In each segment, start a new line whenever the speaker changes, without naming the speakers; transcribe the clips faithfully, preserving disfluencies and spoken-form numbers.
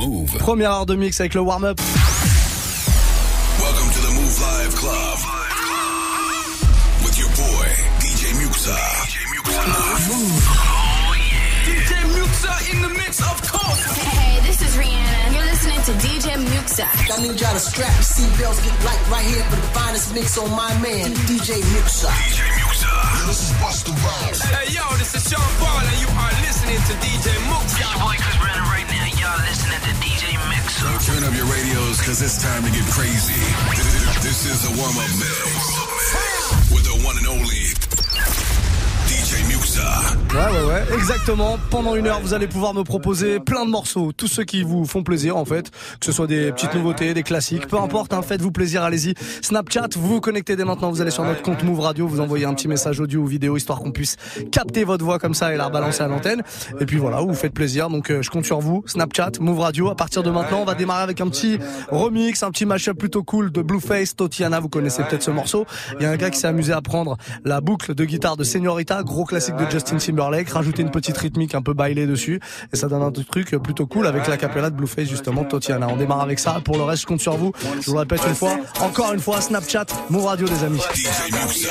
Move.
Première heure de mix avec le warm-up.
Welcome to the Move Live Club with your boy D J Muxa. D J Muxa.
Move. Oh yeah. D J Muxa in the mix, of course.
Hey, this is Rihanna. You're listening to D J Muxa.
I need y'all to strap your seatbelts, get light right here for the finest mix on my man, D J Muxa.
D J Muxa. This is Busta Rhymes.
Hey, yo, this is Sean Paul, and you are listening to D J Muxa.
It's your boy Chris Brennan right now. Y'all listening to D J Muxa.
So turn up your radios, cause it's time to get crazy. This is the warm-up mix with the one and only D J Muxa.
Ouais, ouais, ouais, exactement. Pendant une heure, vous allez pouvoir me proposer plein de morceaux, tous ceux qui vous font plaisir en fait, que ce soit des petites nouveautés, des classiques, peu importe, hein, faites-vous plaisir, allez-y. Snapchat, vous vous connectez dès maintenant, vous allez sur notre compte Move Radio, vous envoyez un petit message audio ou vidéo histoire qu'on puisse capter votre voix comme ça et la rebalancer à l'antenne. Et puis voilà, vous vous faites plaisir, donc euh, je compte sur vous. Snapchat, Move Radio. À partir de maintenant, on va démarrer avec un petit remix, un petit mashup plutôt cool de Blueface, Tatiana. Vous connaissez peut-être ce morceau. Il y a un gars qui s'est amusé à prendre la boucle de guitare de Señorita, gros classique de Justin Timberlake, rajouter une petite rythmique un peu bailée dessus et ça donne un truc plutôt cool avec la capella de Blueface justement, Tatiana. On démarre avec ça. Pour le reste, je compte sur vous. Je vous le répète une fois, encore une fois, Snapchat, Move Radio des amis.
D J Muxa.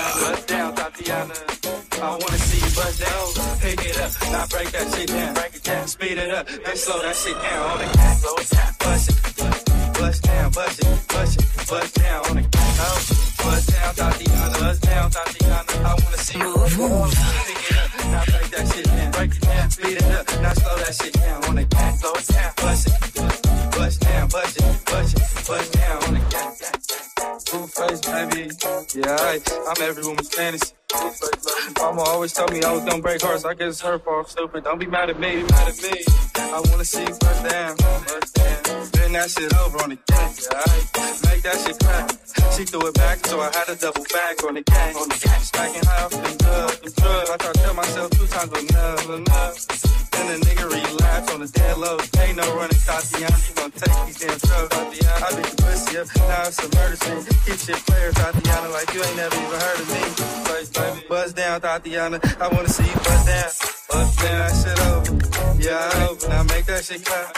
I wanna see you bust down, pick it up, now break that shit down, break it down, speed it up, then slow that shit down on the cat, slow it down, bust it, bust down, bust it, bust it, bust down on the cat, bust down, Tatiana, bust down, Tatiana, I wanna see you
Move, move.
Pick it up, now break that shit down, break it down, speed it up, now slow that shit down on the cat, slow it down, bust it, bust down, bust it, bust it, bust down on the cat. Blueface, baby, yeah, I, I'm every woman's fantasy. Mama always told me I was gonna break hearts. I guess it's her fault, stupid. Don't be mad at me, mad at me. I wanna see you bust down, bust down. Bend that shit over on the gang, yeah, I make that shit clap. She threw it back, so I had to double back on the gang. On the gang, smacking high off them drugs, them drugs. I tried to tell myself two times enough, enough. Then the nigga relapsed on the dead low. Ain't no running, Tatiana. You gon' take these damn drugs, Tatiana. I beat the pussy up, now it's a murder scene. Keep shit players, Tatiana, like you ain't never even heard of me. Buzz down, Tatiana. I wanna see you buzz down. Buzz down, that shit over. Yeah, over. Now make that shit clap.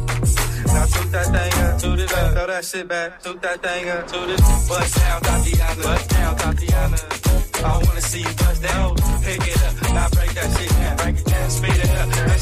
Now toot that thing up, toot it up. Throw that shit back, toot that thing up, toot it. Buzz down, Tatiana. Buzz down, Tatiana. I wanna see you buzz down. Pick it up, now break that shit down. Break it down, speed it up. Let's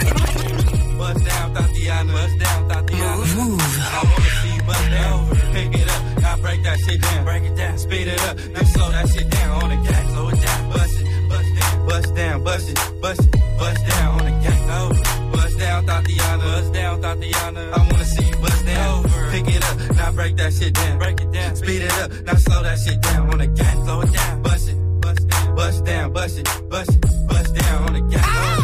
slow. Buzz down, Tatiana. Buzz down, Tatiana.
Move, move.
I wanna see you buzz down. Pick it up, now break that shit down. Break it down, speed it up. Then slow that shit down on the gas. Slow it down, bust it, bust down, bust down, bust it, bust it, bust down on the gas. Oh, bust down, Tatiana. Bust down, Tatiana. I wanna see you bust down. Pick it up, now break that shit down. Break it down, speed it up. Now slow that shit down on the gas. Slow it down, bust it, bust down, bust down, bust it, bust it, bust down on the gas.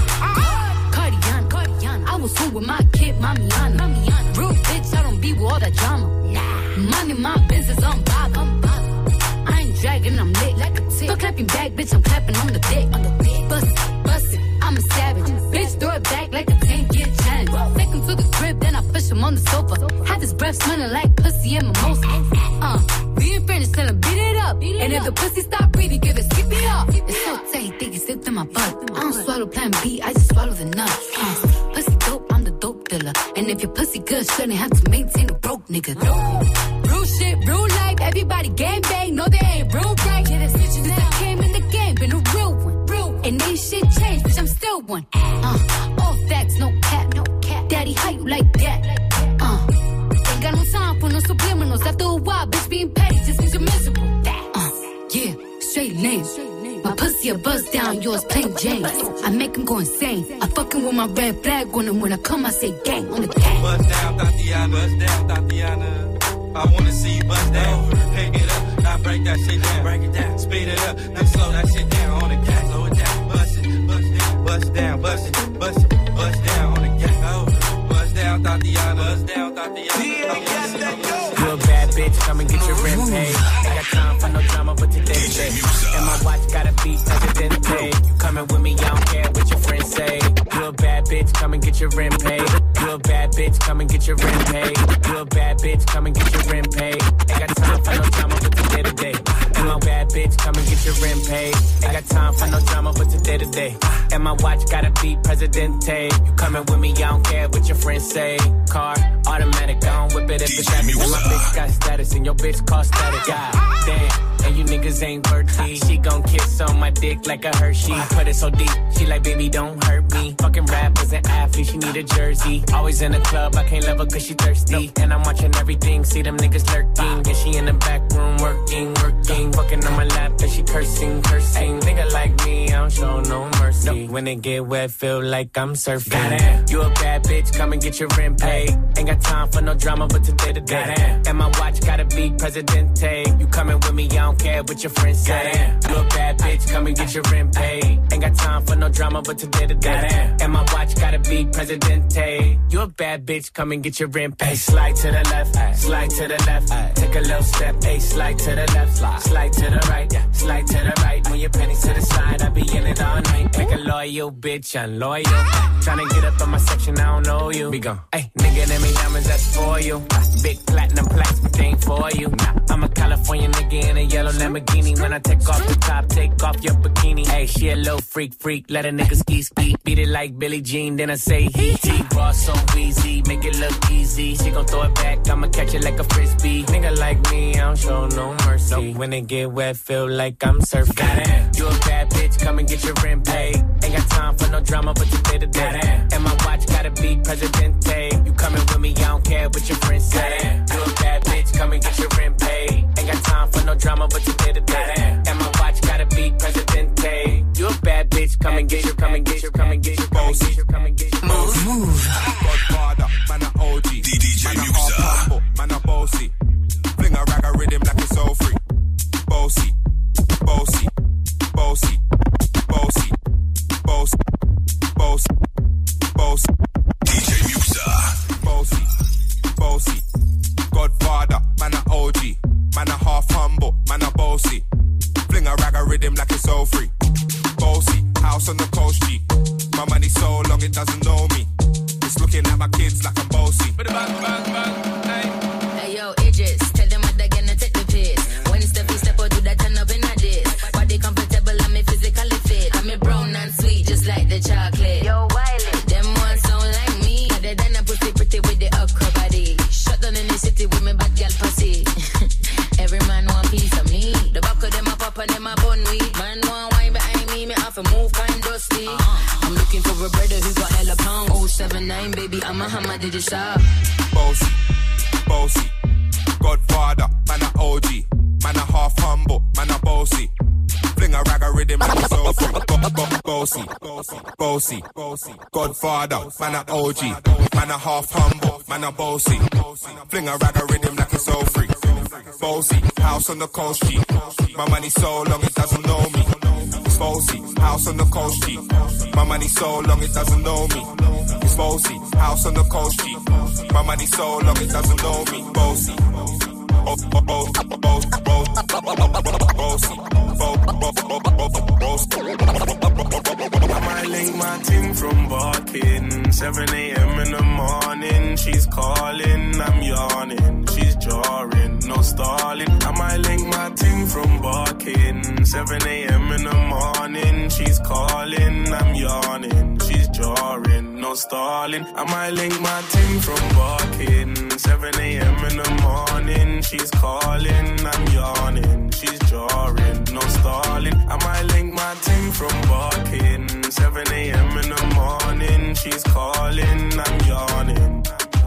Oh.
Cardiana, Cardiana. I was home with my kid, Mamiana. Mamiana. Real bitch, I don't be with all that drama. Nah. Money, my business, I'm bob, I'm bob. I ain't dragging, I'm lit like a tick. Don't clapping back, bitch, I'm clapping on the dick. On the dick. Bust it, bust it, I'm a savage. Bitch, throw it back like a ten-year challenge. Take him to the crib, then I push him on the sofa. Had his breath smelling like pussy and mimosa. Uh, we in French, tell him beat it up. Beat it and up. If the pussy stop breathing, give it, skip it up. It's so tight, think it's slipped in my butt. I don't swallow plan B, I just swallow the nut. Uh, pussy dope, I'm the dope dealer. And if your pussy good, shouldn't have to maintain a broke nigga. Real shit, real life, everybody gang bang, no they ain't real right. Yeah, that's bitches since I came in the game, been a real one. Real. And ain't shit changed, bitch, I'm still one. Uh, all facts, no cap, no cap. Daddy, how you like that? Uh, ain't got no time for no subliminals. After a while, bitch, being petty just means you're miserable. Uh, yeah, straight name. My pussy a buzz down, yours plain Jane. I make him go insane. I fucking with my red flag on him. When I come, I say gang on the gang.
Buzz down, Tatiana. Buzz down, Tatiana. I wanna see you bust down. Pick it up, now break that shit down. Break it down, speed it up, then slow that shit down on the gas. Slow it down, bust it, bust down, bust down, bust it, bust it, bust down on the gas. Oh, bust down, Tatiana. Bust down, Tatiana.
You a bad bitch, come and get your rent paid. I got time for no drama, but today's day. And my watch got a beat Presidente. You coming with me, I don't care what your friends say. You a bad bitch, come and get your rent paid. You a bad bitch, come and get your rent paid. You a bad bitch, come and get your rent paid. Ain't got time for no drama, but today to day. And my bad bitch, come and get your rent paid. Ain't got time for no drama, but today to day. And my watch gotta be Presidente. You coming with me, I don't care what your friends say. Car, automatic, I don't whip it if it's heavy. And my bitch got status, and your bitch cost static. God damn, and you niggas ain't worthy. She gon' kiss on my dick like a Hershey. Put it so deep, she like, baby, don't hurt me. Fucking rappers and athletes, she need a jersey. Always in the club, I can't love her cause she thirsty. And I'm watching everything, see them niggas lurking. And she in the back room working, working. Fucking on my lap and she cursing, cursing. Nigga like me, I don't show no mercy. When it get wet, feel like I'm surfing. Goddamn. You a bad bitch, come and get your rent paid. Ain't got time for no drama, but today to day. Goddamn. And my watch gotta be Presidente. You coming with me, I don't care what your friends say. Goddamn. You a bad bitch, come and get your rent paid. Ain't got time for no drama, but today to day. Goddamn. And my watch gotta be Presidente. You a bad bitch, come and get your rent paid. Slide to the left, slide to the left. Take a little step, hey, slide to the left, slide to the right, slide to the right. When your pennies to the side, I be in it all night. Make a loyal bitch, I'm loyal. Tryna get up on my section, I don't know you. Be gone. Hey, nigga, them ain't diamonds, that's for you. Big platinum plaques, but they ain't for you. Nah, I'm a California nigga in a yellow Lamborghini. When I take off the top, take off your bikini. Hey, she a little freak, freak, let a nigga ski, ski. Beat it like Billie Jean, then I say he, he. Boss so easy, make it look easy. She gon' throw it back, I'ma catch it like a frisbee. Nigga like me, I don't show no mercy. When it get wet, feel like I'm surfing. Goddamn. You a bad bitch, come and get your rent paid. Ain't got time for no drama, but today to day. And my watch gotta be Presidente. You coming with me, I don't care what your friends say. You a bad bitch, come and get your rent paid. Ain't got time for no drama, but today to day. And my watch gotta be Presidente. You a bad bitch, come and get your, come and get your, come and get your, come and get your, come and get your.
Move, move. Godfather, man a O G.
D J Muxa.
Man a bossy. Fling a rag a rhythm like it's so free. Bossy, bossy, bossy, bossy, bossy, bossy, bossy.
D J Muxa.
Bossy, bossy. Godfather, man a O G. Man a half humble, man a bossy. Fling a rag a rhythm like it's so free. Bossy, house on the coast G. My money so long it doesn't know me. It's looking at my kids like I'm bossy.
Bang, bang, bang, hey.
Hey yo, Idris, tell them what they're gonna take the piss. When it's the feast, step or do that turn up in a dish. Body comfortable, I'm a physically fit. I'm a brown and sweet, just like the chocolate. Yo, Wiley, them ones sound like me. Other than a pussy pretty with the upper body. Shut down in the city with me bad girl pussy. Every man want piece of me. The back of them a pop and them a bun weed. Man want wine behind me, me have to move kind dusty. Uh-huh. I'm looking for a brother who got hella pound. oh seven nine, baby, I'm a hammer, did you shop?
Bossy, bossy. Godfather, man a O G. Man a half humble, man a bossy. Fling a rag a rhythm like it's so free. Bossy, bossy, bossy. Godfather, man a O G. Man a half humble, man a bossy. Fling a rag a rhythm like it's so free. Bossy, house on the coast G. My money so long it doesn't know me. Bossy, house on the coast G. My money so long it doesn't know me. It's bossy, house on the coast G. My money so long it doesn't know me. Bossy. Oh, oh, oh, oh, oh, bossy,
I might link my team from barking. seven a.m. in the morning. She's calling, I'm yawning. She's jarring, no stalling. I might link my team from barking. seven a.m. in the morning. She's calling, I'm yawning. She's jarring, no stalling. I might link my team from barking. seven a.m. in the morning. She's calling, I'm yawning. She's jarring, no stalling. I might link my team from barking. seven a.m. in the morning. She's calling, I'm yawning.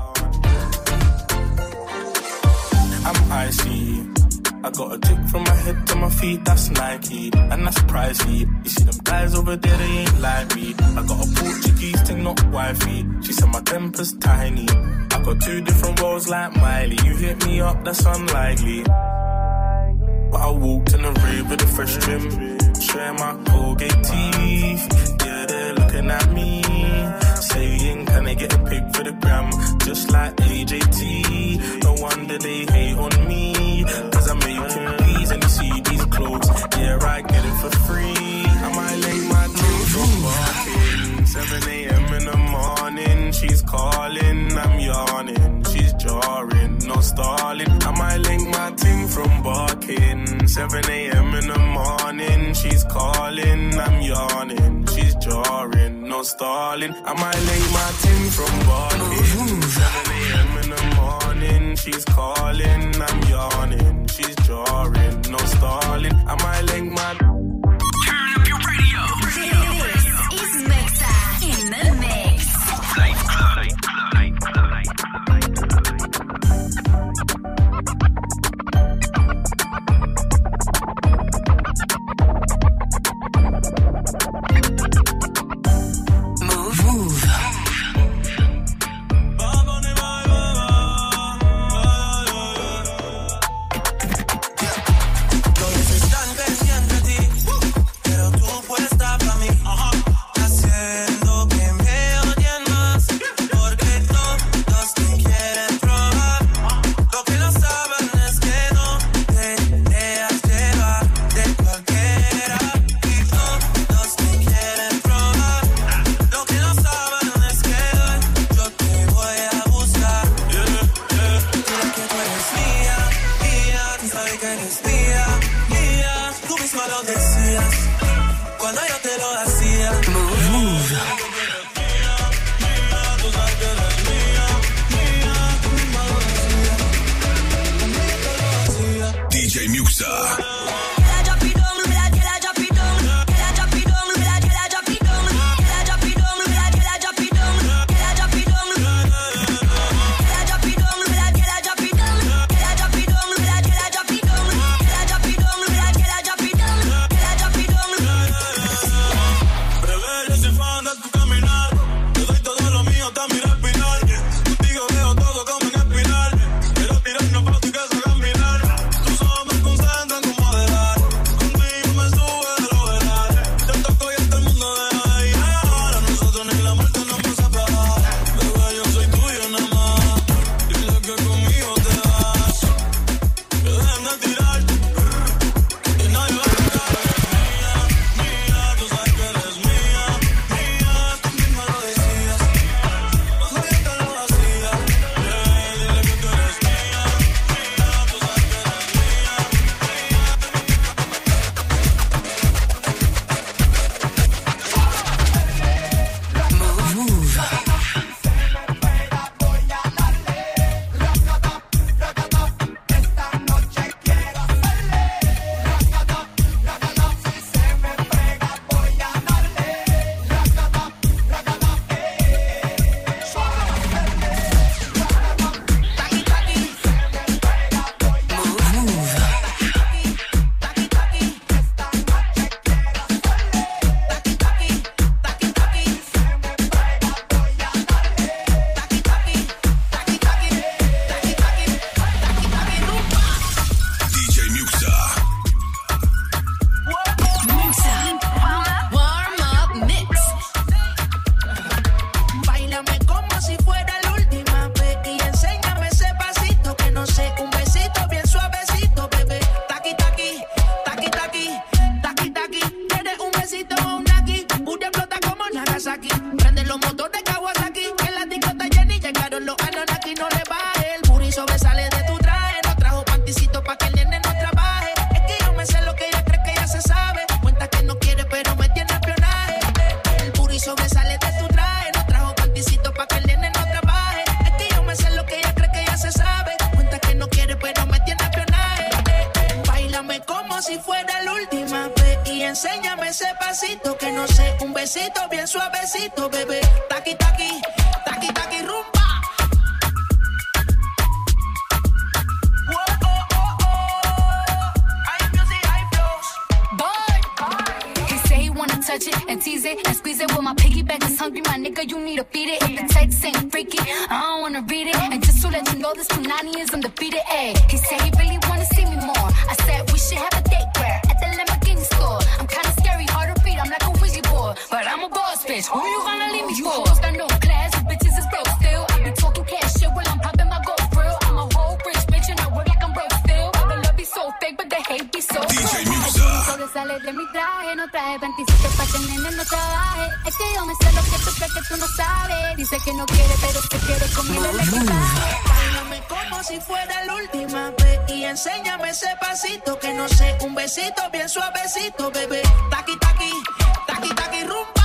I'm icy. I got a tick from my head to my feet, that's Nike, and that's pricey. You see them guys over there, they ain't like me. I got a Portuguese thing, not wifey. She said my temper's tiny. I got two different roles like Miley. You hit me up, that's unlikely. But I walked in the rave with a fresh trim, showing my Colgate teeth. Yeah, they're looking at me, saying, can I get a pic for the gram? Just like A J T. No wonder they hate on me, cause I'm making peas and you see these clothes. Yeah, I get it for free. I might lay my team from barking. seven a.m. in the morning. She's calling, I'm yawning. She's jarring, no stalling. I might link my ting from barking. seven a.m. in the morning, she's calling, I'm yawning. She's jarring, no stalling. I might link my ting from barking. seven a.m. in the morning, she's calling, I'm yawning. She's jarring, no stalling. I might link my...
Turn up your radio.
This is Mixa in the mix.
Light club. Light club. Light club. Light club. Light
Move. Move.
D J Muxa.
Enséñame ese pasito que no sé, un besito bien suavecito, bebé. Taqui, taqui, taqui, taqui, rumba.
Touch it and tease it and squeeze it. Well, my piggyback is hungry, my nigga, you need to feed it. If the text ain't freaky, I don't wanna read it. And just to let you know, this Punani is undefeated. Ayy, he said he really wanna see me more. I said we should have a date where at the Lamborghini store. I'm kinda scary, hard to read, I'm like a Ouija board, but I'm a boss bitch. Who you gonna leave me for? Hoes got no class, you bitches is broke still. I be talking cash shit while I'm popping my gold grill. I'm a whole rich bitch and I work like I'm broke still. The love be so fake, but the hate be so real.
Sale de mi traje, no traje veintisiete pa' que el nene no trabaje. Es que yo me sé lo que tú crees que tú no sabes. Dice que no quiere, pero se quiere conmigo el equipaje.
Báilame como si fuera la última vez. Y enséñame ese pasito que no sé, un besito bien suavecito, bebé. Taqui, taqui, taqui, taqui, rumba.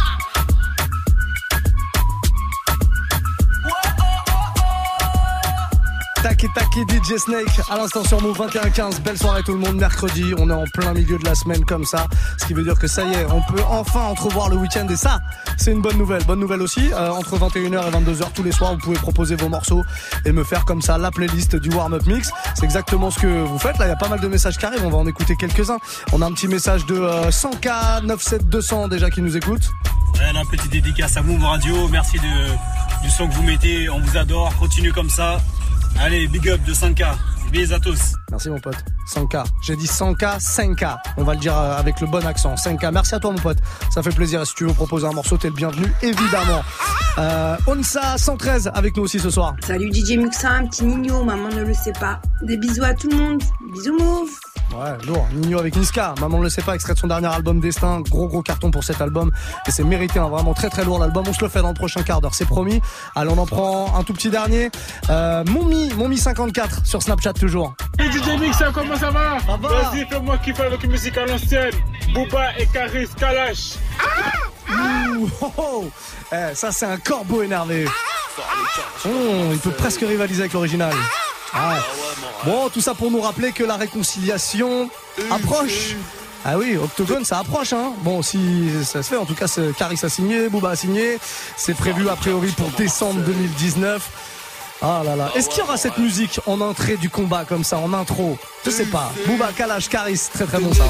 Taki Taki D J Snake à l'instant sur Move vingt et un quinze. Belle soirée tout le monde, mercredi, on est en plein milieu de la semaine comme ça, ce qui veut dire que ça y est, on peut enfin entrevoir le week-end et ça, c'est une bonne nouvelle. Bonne nouvelle aussi, euh, entre vingt et une heures et vingt-deux heures tous les soirs, vous pouvez proposer vos morceaux et me faire comme ça la playlist du warm-up mix. C'est exactement ce que vous faites, là il y a pas mal de messages qui arrivent, on va en écouter quelques-uns. On a un petit message de euh, cent K neuf sept deux cents déjà qui nous écoute.
Ouais, là, petite dédicace à Move Radio, merci de, du son que vous mettez, on vous adore, continuez comme ça. Allez, big up de cinq K. Bisous à tous.
Merci mon pote. cent K. J'ai dit cent K, cinq K. On va le dire avec le bon accent. cinq K. Merci à toi mon pote. Ça fait plaisir. Et si tu veux proposer un morceau, t'es le bienvenu, évidemment. Euh, Onsa cent treize avec nous aussi ce soir.
Salut D J Muxa, un petit Nino, maman ne le sait pas. Des bisous à tout le monde. Bisous Move.
Ouais, lourd. Nino avec Niska. Maman ne le sait pas, extrait de son dernier album Destin. Gros gros carton pour cet album. Et c'est mérité, hein, vraiment très très lourd l'album. On se le fait dans le prochain quart d'heure, c'est promis. Allez, on en prend un tout petit dernier. Euh, Momi, Momi cinquante-quatre sur Snapchat toujours.
Hey D J Mixa, comment ça va?
Ça va.
Vas-y, fais-moi kiffer avec une musique à l'ancienne. Booba et Karis Kalash.
Ah Ouh, oh, oh. Eh, ça c'est un corbeau énervé. Oh, il peut presque rivaliser avec l'original. Ah. Bon, tout ça pour nous rappeler que la réconciliation approche. Ah oui, Octogone, ça approche, hein. Bon, si ça se fait, en tout cas, Karis a signé, Booba a signé. C'est prévu a priori pour décembre deux mille dix-neuf. Ah là là. Est-ce qu'il y aura cette musique en entrée du combat comme ça, en intro? Je sais pas. Booba, Kalash, Karis, très très bon ça.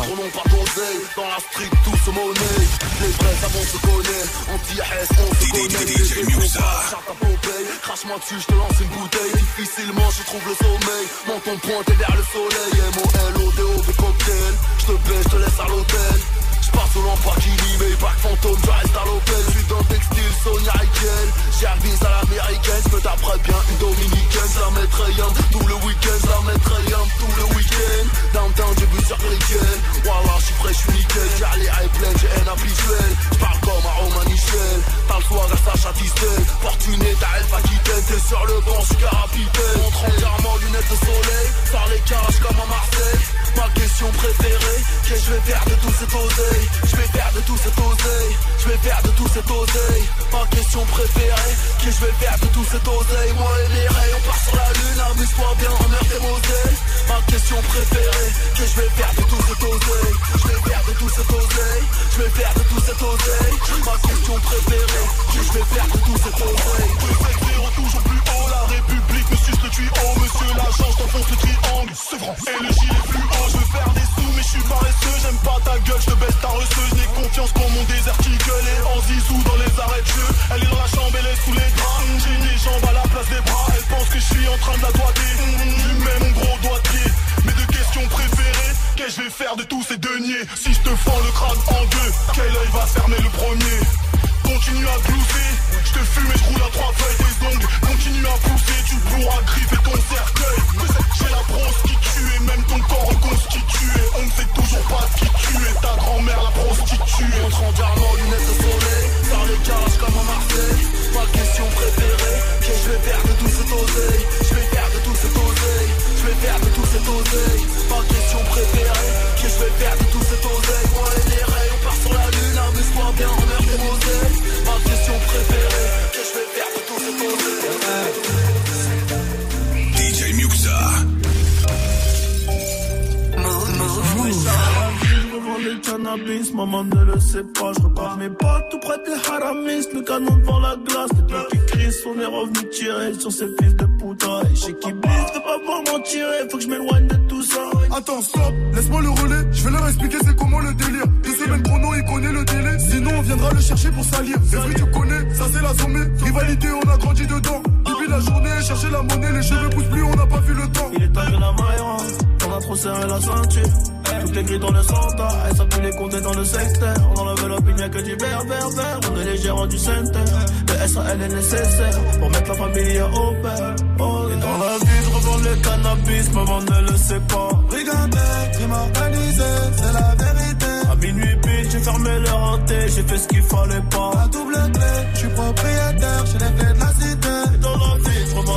Dans la street, tout se monnaie. Les vrais savants se connaissent. Anti-S, on se connaît. D J Muxa. Crache-moi dessus, je te lance une bouteille. Difficilement, je trouve le sommeil. Menton pointé vers le soleil. M O L O D O V cocktail. Je te baisse, je te laisse à l'hôtel. J'pars au Lamborghini, mais pas de fantôme, je reste à l'hôtel. J'suis dans le textile, Sonia Riquel. J'ai un vis à l'américaine, j'me taperais bien une dominicaine. J'la mettrais yam tout le week-end, j'la mettrais yam tout le week-end. Downtown, j'ai vu sur Riquel. Wallah, j'suis frais, j'suis nickel. J'ai les high plein, j'ai un habituel. J'parle comme un Roman Michel. T'as le soir à Sacha Distel. Fortuné, t'as elle pas quitté. T'es sur le banc, j'suis capitaine. Montre entièrement lunettes de soleil. Par les cages comme à Marseille. Ma question préférée, qu'est-ce que je vais faire de tout cet oseille? Je vais faire de tout cet oseille. Je vais faire de tout cet oseille. Ma question préférée, qu'est-ce que je vais faire de tout cet oseille? Moi et les rays, on part sur la lune. Amuse-toi bien, emmerde tes moseilles. Ma question préférée, qu'est-ce que je vais faire de tout cet oseille? Je vais faire de tout cet oseille. Je vais faire de tout cet oseille. Ma question préférée, qu'est-ce que je vais faire de tout cet oseille?
Préfère toujours plus haut, la République me suce le tuyau. Monsieur l'agent, j't'enfonce le triangle. Sevran et le gilet fluo. Je veux faire des sous, mais je suis paresseux. J'aime pas ta gueule, je te baisse ta reçeuse. N'ai confiance pour mon désert qui gueule. Et en zizou dans les arrêts de jeu. Elle est dans la chambre, elle est sous les draps. J'ai des jambes à la place des bras. Elle pense que je suis en train de la doigter. Je mets mon gros doigtier. Mes deux questions préférées, qu'est-ce que je vais faire de tous ces deniers? Si je te fends le crâne en deux, quel œil va fermer le premier? Continue à glousser, je te fume et je roule à trois feuilles des ongles. Continue à pousser, tu pourras griffer ton cercueil. J'ai la brosse qui tue et même ton corps reconstitué. On ne sait toujours pas qui tu es, ta grand-mère la prostituée.
Montre entièrement lunettes de soleil. Dans les cages comme à Marseille. Ma question préférée, qu'est-ce que je vais faire de tout cet oseille? Je vais faire de tout cet oseille. Je vais faire de tout cet oseille. Ma question préférée, qu'est-ce que je vais faire de tout cet oseille? Moi et les rays, on part sur la lune. Amuse-toi bien, emmerde tes moseilles. Ma question préférée, qu'est-ce que je vais faire de tout cet oseille?
D J Muxa.
Le cannabis, maman ne le sait pas. Je repars mes potes tout près des haramis. Le canon devant la glace, les trucs qui crient. On est revenu tirer sur ces fils de putain. Et chez qui blisse, de pas pouvoir m'en tirer. Faut que je m'éloigne de tout ça.
Attends, stop, laisse-moi le relais. Je vais leur expliquer c'est comment le délire. Deux semaines chrono, il connaît le délai. Sinon, on viendra le chercher pour salir. C'est vrai, tu connais, ça c'est la sommée. Rivalité, on a grandi dedans. Depuis la journée, chercher la monnaie. Les cheveux poussent plus, on n'a pas vu le temps.
Il est temps que la maille, on a trop serré la ceinture. Toutes les grilles dans le centre, elle s'appuie les compter dans le secteur. On enlève l'opinion que du vert, vert, vert. On est les gérants du center. Le S A L est nécessaire pour mettre la famille au père. Oh, et dans la vie, je revends le cannabis, maman ne le sait pas.
Regardez, crime organisé, c'est la vérité.
À minuit pile, j'ai fermé le hanté, j'ai fait ce qu'il fallait pas.
La double clé, je suis propriétaire, j'ai les clés de la cité.
Et dans la vie, je revends le cannabis.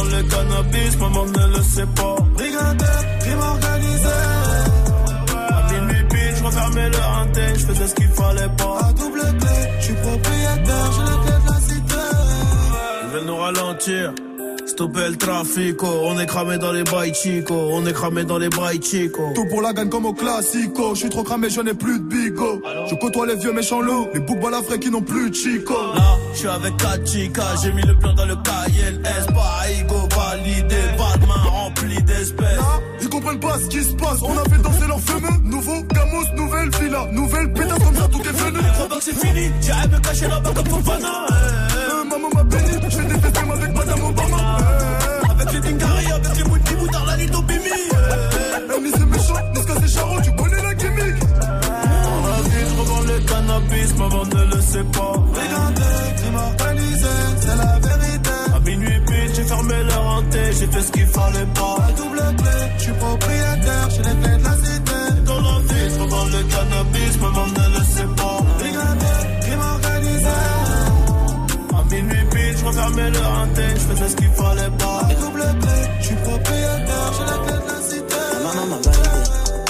cannabis, maman ne le sait pas.
Brigandais, crime organisé.
À minuit pile, je refermais le hanté, je faisais ce qu'il fallait pas.
À double clé, je suis propriétaire, j'ai les clés de la cité.
Ils veulent nous ralentir. Stopper le trafico, on est cramé dans les bails chico, on est cramé dans les bails chico.
Tout pour la gagne comme au classico, je suis trop cramé, je n'ai plus de bigo. Je côtoie les vieux méchants loups, les boucs balafrés qui n'ont plus de chico.
Là, je suis avec quatre chicas, j'ai mis le plan dans le cahier, S, pas ego validé, pas de main remplie d'espèces.
Là, ils comprennent pas ce qui se passe, on a fait danser leur fumeux. Nouveau Gamos, nouvelle villa, nouvelle pétasse comme ça tout est venu.
Les crois pas que c'est fini, j'arrive me cacher là-bas comme Fofana.
Euh, maman m'a béni, je fais des festins avec madame Obama.
Avec les Dingari, avec les Mouti Moutard, la Lito Bimi.
Amy c'est méchant, Niska c'est charron, tu connais la gimmick.
On a dit je revends le cannabis, maman ne le sait pas.
Brigandais, crime organisé, c'est la vérité.
À minuit pile, j'ai fermé le hanté, j'ai fait ce qu'il fallait pas.
À double clé, je suis propriétaire, j'ai les clés de la cité.
Dans la vie, je revends le cannabis, maman ne le sait pas.
Brigandais, crime organisé.
À minuit pile, je refermais le hanté, je faisais ce qu'il fallait pas.
À double clé, je suis propriétaire, j'ai la clé de la cité.
Maman m'a validé.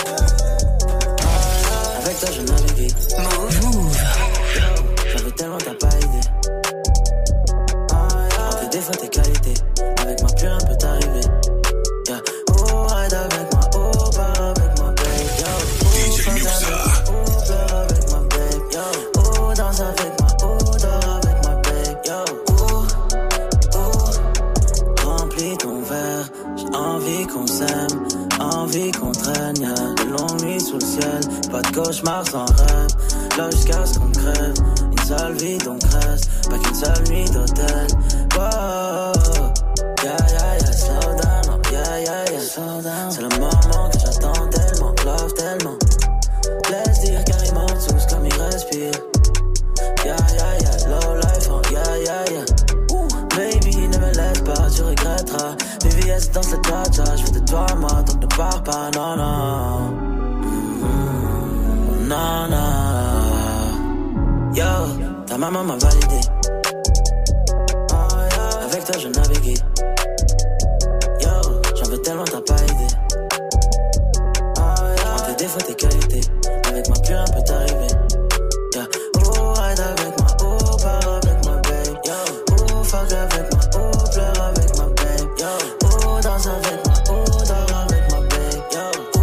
Avec toi je navigue. Move. J'avais tellement t'as pas idée. En tes défauts, tes qualités. Avec moi plus rien peut t'arriver. Yeah. Oh, ride avec moi, oh, pars avec moi, babe. Yo.
D J Muxa.
Oh, pleure avec moi, babe. Yo. Oh, danse avec moi, oh, dors avec moi, babe. Yo. Oh, oh. Remplis ton verre, j'ai envie qu'on s'aime. Envie qu'on traîne, y'a de longues nuits sous le ciel. Pas de cauchemar sans rêve. Là jusqu'à ce qu'on crève. Une seule vie donc reste. Pas qu'une seule nuit d'hôtel. Wow. Yeah, yeah, yeah, slow down. Oh, yeah, yeah, yeah, slow down. C'est le moment que j'attends tellement. Love tellement. Laisse dire car il monte sous comme il respire. Yeah, yeah, yeah, low life. Oh, yeah, yeah, yeah. Baby, ne me laisse pas, tu regretteras. V V S dans cette cha-cha, je fais de toi moi, donc ne pars pas, non, non. Mm-hmm. Non, non. Yo, ta maman m'a validé. Avec toi je navigue. Yo, j'en veux tellement t'as pas idée. En tes défauts, tes qualités. Avec moi plus rien peut t'arriver. Yeah. Oh, ride avec moi, oh, pars avec moi, babe. Yo. Fuck avec moi, oh, pleure avec ma babe, yo. Oh, danse avec moi, oh, dors avec ma babe, yo.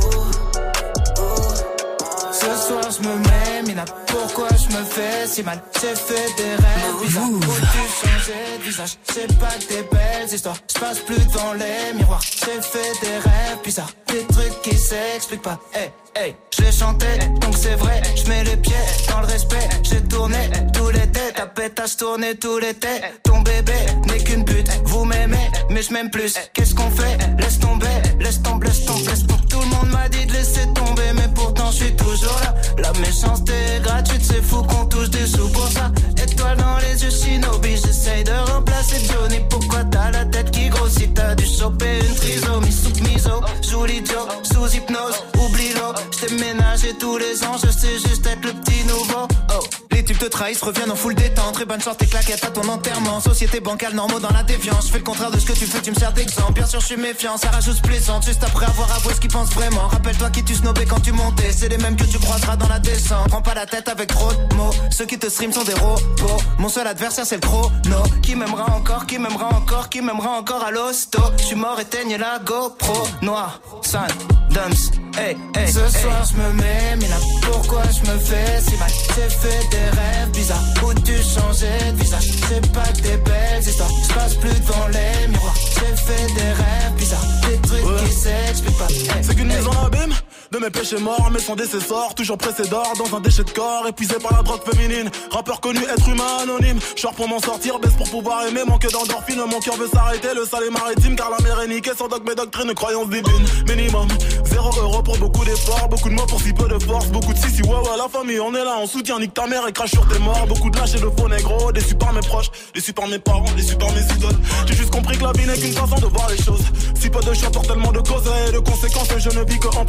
Oh, oh.
Ce soir je me mets, Mina, pourquoi je me fais si mal? J'ai fait des rêves bizarres, faut-tu changer de visage? C'est pas que des belles histoires, je passe plus devant les miroirs. J'ai fait des rêves bizarres, des trucs qui s'expliquent pas. Hey, hey, je l'ai chanté, donc c'est vrai, je mets les pieds dans le respect. J'ai tourné tout l'été, ta pétasse tournée tout l'été. Ton bébé n'est qu'une pute, vous m'aimez, mais je m'aime plus. Qu'est-ce qu'on fait? Laisse tomber, laisse tomber, laisse tomber, laisse tomber. Tout le monde m'a dit de laisser tomber, mais pourtant je suis toujours là. La méchanceté est gratuite, c'est fou qu'on touche des sous pour ça. Étoile dans les yeux, Shinobi, j'essaye de remplacer Johnny. Pourquoi t'as la tête qui grossit? T'as dû choper une trisomie sous miso. Joue l'idiot, sous hypnose, oublie-le. J't'ai ménagé tous les ans, je sais juste être le petit nouveau. Oh, les tubes te trahissent, reviennent en full détente. Très bonne chance, tes claquettes à ton enterrement. Société bancale, normaux dans la déviance. Je fais le contraire de ce que tu fais, tu me sers d'exemple. Bien sûr, je suis méfiant, ça rajoute plaisante. Juste après avoir avoué ce qu'ils pensent vraiment. Rappelle-toi qui tu snobais quand tu montais. C'est les mêmes que tu croiseras dans la descente. Prends pas la tête avec trop de mots. Ceux qui te stream sont des robots. Mon seul adversaire, c'est le chrono. Qui m'aimera encore, qui m'aimera encore, qui m'aimera encore à l'hosto. Je suis mort, éteigne la GoPro. Noir, sun, dumps, hey, hey. Ce hey. Soir, je me mets, mais là, pourquoi je me fais si mal? J'ai fait des rêves bizarres, où tu changeais de visage. C'est pas que des belles histoires, je passe plus devant les miroirs. J'ai fait des rêves bizarres, des trucs ouais. qui s'expliquent pas. Hey,
c'est qu'une
hey.
mise en abîme de mes péchés morts, mais sans décessor, toujours pressé d'or dans un déchet de corps, épuisé par la drogue féminine. Rappeur connu, être humain anonyme. Short pour m'en sortir, baisse pour pouvoir aimer, manque d'endorphine. Mon cœur veut s'arrêter, le sale est maritime, car la mer est niquée sans dogme et doctrine, croyance divine. Minimum, zéro euro pour beaucoup d'efforts, beaucoup de mots pour si peu de force, beaucoup de si si ouais ouais la famille, on est là, on soutient, nique ta mère et crache sur tes morts. Beaucoup de lâches et de faux négros, déçus par mes proches, déçus par mes parents, déçus par mes idoles. J'ai juste compris que la vie n'est qu'une façon de voir les choses. Si peu de choix pour tellement de causes et de conséquences, je ne vis que en plan séquence.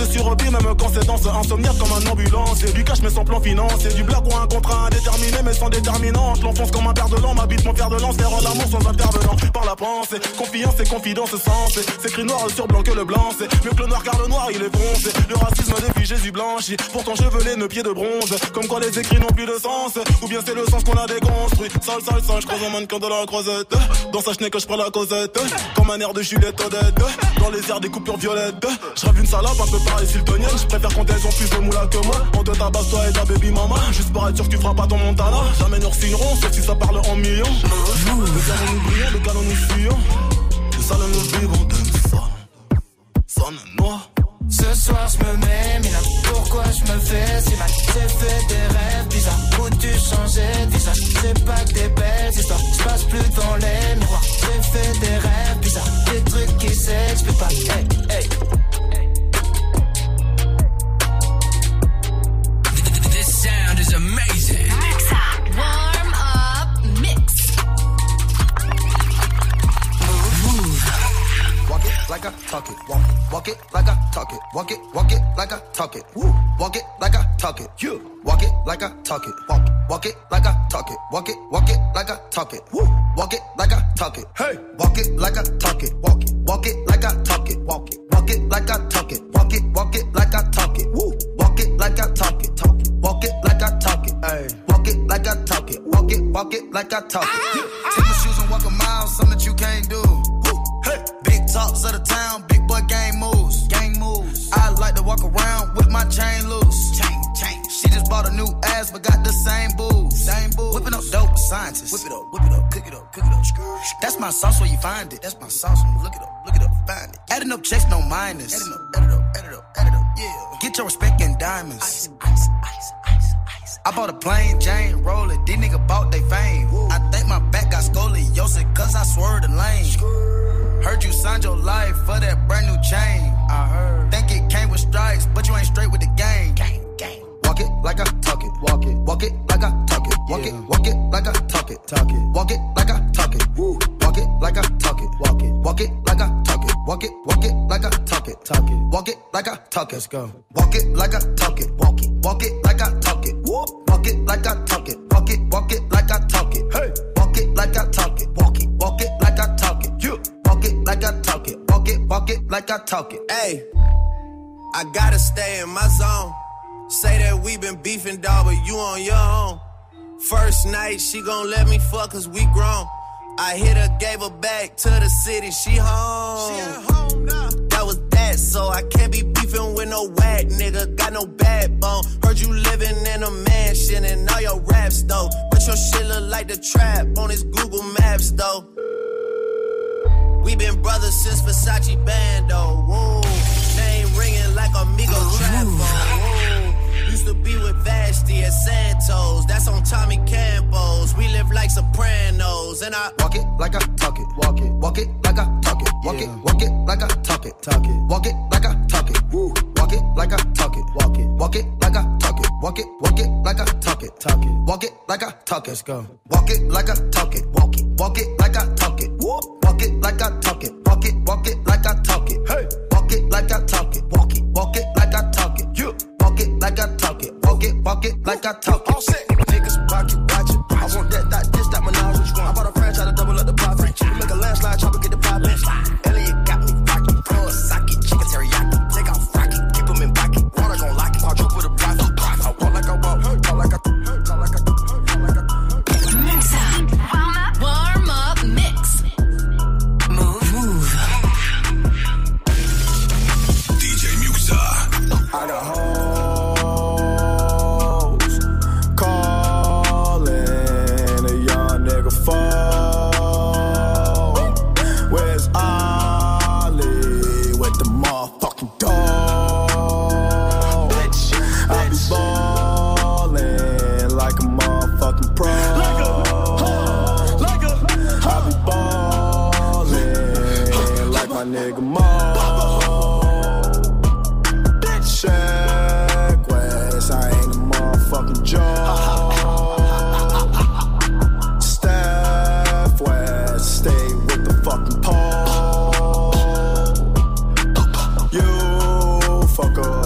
reste sur repli même quand c'est danse. Insomniaque comme un ambulancier. Du cash mais sans plan financier. Du blague ou un contrat indéterminé mais sans déterminante. Je l'enfonce comme un père de l'an, m'habite mon fer de lance. Faire l'amour sans intervenant par la pensée. Confiance et confidence sensée. C'est écrit noir sur blanc que le blanc. C'est mieux que le noir car le noir il est bronzé. Le racisme depuis Jésus blanchi. Pourtant chevelé, nos pieds de bronze. Comme quoi les écrits n'ont plus de sens. Ou bien c'est le sens qu'on a déconstruit. Sale, sale, sale, je croise un mannequin de la croisette. Dans sa chenille que je prends la causette. Comme un air de Juliette Odette. Dans les airs des coupures violettes. Je rêve une salope un peu pareil siltonienne. Je préfère quand elles ont plus de moula que moi. On te tabasse toi et ta baby mama. Juste pour être sûr que tu feras pas ton Montana. Jamais nous signerons sauf si ça parle en millions. Le canon nous brillons, le canon nous fuyons. Le salon nous vivons d'un son. Sonne noir.
Ce soir je me mets, mais là pourquoi je me fais si mal? J'ai fait des rêves bizarres où tu changeais de visage. C'est pas que des belles histoires, je passe plus dans les miroirs. J'ai fait des rêves bizarres, des trucs qui s'expliquent pas. Hey, hey.
This sound is amazing.
Mix up, warm up, mix.
Move.
Walk it like I talk it. Walk it, walk it like I talk it. Walk it, walk it like I talk it. Woo. Walk it like I talk it. You walk it like I talk it. Walk it, walk it like I talk it. Walk it, walk it like I talk it. Woo. Walk it like I talk it. Hey, walk it like I talk it. Walk it, walk it like I talk it. Walk it, walk it like I talk it. Walk it, walk it like I talk it. Woo. Walk it like I talk it. Talk it. Walk it like I talk it. Hey, walk it like I talk it. Walk it, walk it like I talk it. Yeah. Take my shoes and walk a mile, something that you can't do. Hey. Big talks of the town, big boy gang moves. Gang moves. I like to walk around with my chain loose. Chain, chain. She just bought a new ass, but got the same boobs. Same boobs. Whipping up dope scientists. Whip it up, whip it up, cook it up, cook it up. That's my sauce where you find it. That's my sauce. Look it up, look it up, find it. Adding up checks, no minus. Adding up, add it up, add it up, add it up. Yeah. Get your respect in diamonds. Ice, ice, ice, ice, ice. I bought a plain Jane roller. These niggas bought they fame. Woo. I think my back got scoliosis, cause I swerved the lane. Skrr. Heard you signed your life for that brand new chain. I heard. Think it came with stripes, but you ain't straight with the game. Gang, gang. Walk it like I talk it. Walk it. Walk it like I talk it. Walk yeah. it. Walk it like I talk it. Talk it. Walk it like I talk it. Woo. Walk it like I talk it. Walk it. Walk it like I talk it. Walk it. Walk it like I talk it. Talk it. Walk it like I talk it. Let's go. Walk it like I talk it. Walk it. Walk it like I talk it. Woo. Walk it like I talk it. Walk it. Walk it like I talk it. Hey. Walk it like I talk it. Walk it. Walk it like I talk it. You. Walk it like I talk it. Walk it, walk it like I talk it.
Hey, I gotta stay in my zone. Say that we been beefing, dog, but you on your own. First night, she gon' let me fuck cause we grown. I hit her, gave her back to the city, she home. She at home now. That was that, so I can't be beefing with no whack nigga. Got no backbone. Heard you living in a mansion and all your raps though. But your shit look like the trap on his Google Maps though. We been brothers since Versace Bando. Whoa. Name ringing like Amigo Trap. Whoa. Used to be with Vashti at Santos. That's on Tommy Campos. We live like Sopranos. And I
walk it like I talk it. Walk it. Walk it like I talk it. Walk yeah. it. Walk it like I talk it. Talk it. Walk it like I talk it. Woo. Walk it like I talk it. Walk it. Walk it like I talk it. Walk it. Walk it like I talk it. Talk it. Walk it like I talk it. Let's go. Walk it like I talk it. Walk it. Walk it like I talk it. Woo. Walk it like I talk it. Walk it. Walk it like I talk it. Hey. Walk it like I talk it. Walk it. Walk it like I talk it. You. Walk it like I talk it. Walk it. Walk it like I talk it. All set. Niggas pocket watch it. I want that, that, this, that, menage. Which one? I bought a franchise to double up the profit. You make a landslide, chopper get the profit. Elliot got me rocking. Pro sake, chicken teriyaki. Take off rocket. Keep them in pocket. Water gon' lock it. I'll drop with a profit. I walk like I walk. Talk like I talk like I talk like I
Mix up. Warm up. Warm up mix. Move. Move.
D J Muxa.
I got hoes calling a young nigga phone. Where's Ollie with the motherfucking dog? I be ballin' like a motherfucking pro. I be ballin' like my nigga Mo. Check West, I ain't a motherfucking joke. Steph West, stay with the fucking pole. You fuck up.